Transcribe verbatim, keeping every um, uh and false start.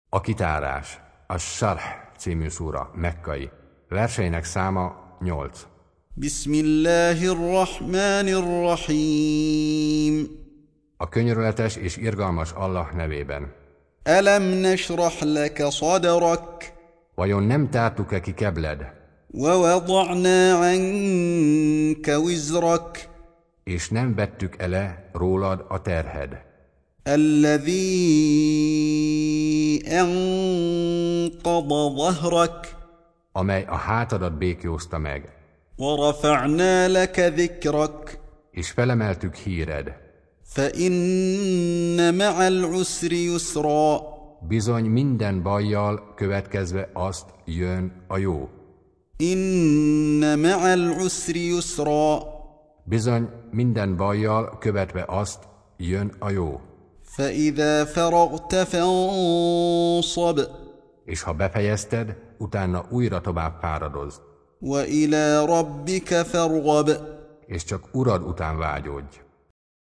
A kitárás, a Sarh című szúra, mekkai. Verseinek száma nyolc. Bismillahirrahmanirrahim. A könyörületes és irgalmas Allah nevében. Alam nashrah laka sadrak. Vajon nem tártuk-e ki kebled? Wa wada'na anka wizrak. És nem vettük ele rólad a terhed. Alladhi anqadha dhahrak. Amely a hátadat békjózta meg. Wa rafa'na laka dhikrak. És felemeltük híred. Fa inna ma'al usri yusra. Bizony minden bajjal következve azt jön a jó. Inna ma'al usri yusra. Bizony minden bajjal követve azt jön a jó. Fa idha faragta fansab. És ha befejezted, utána újra tovább fáradozz. Wa ila rabbika farghab. És csak Urad után vágyódj.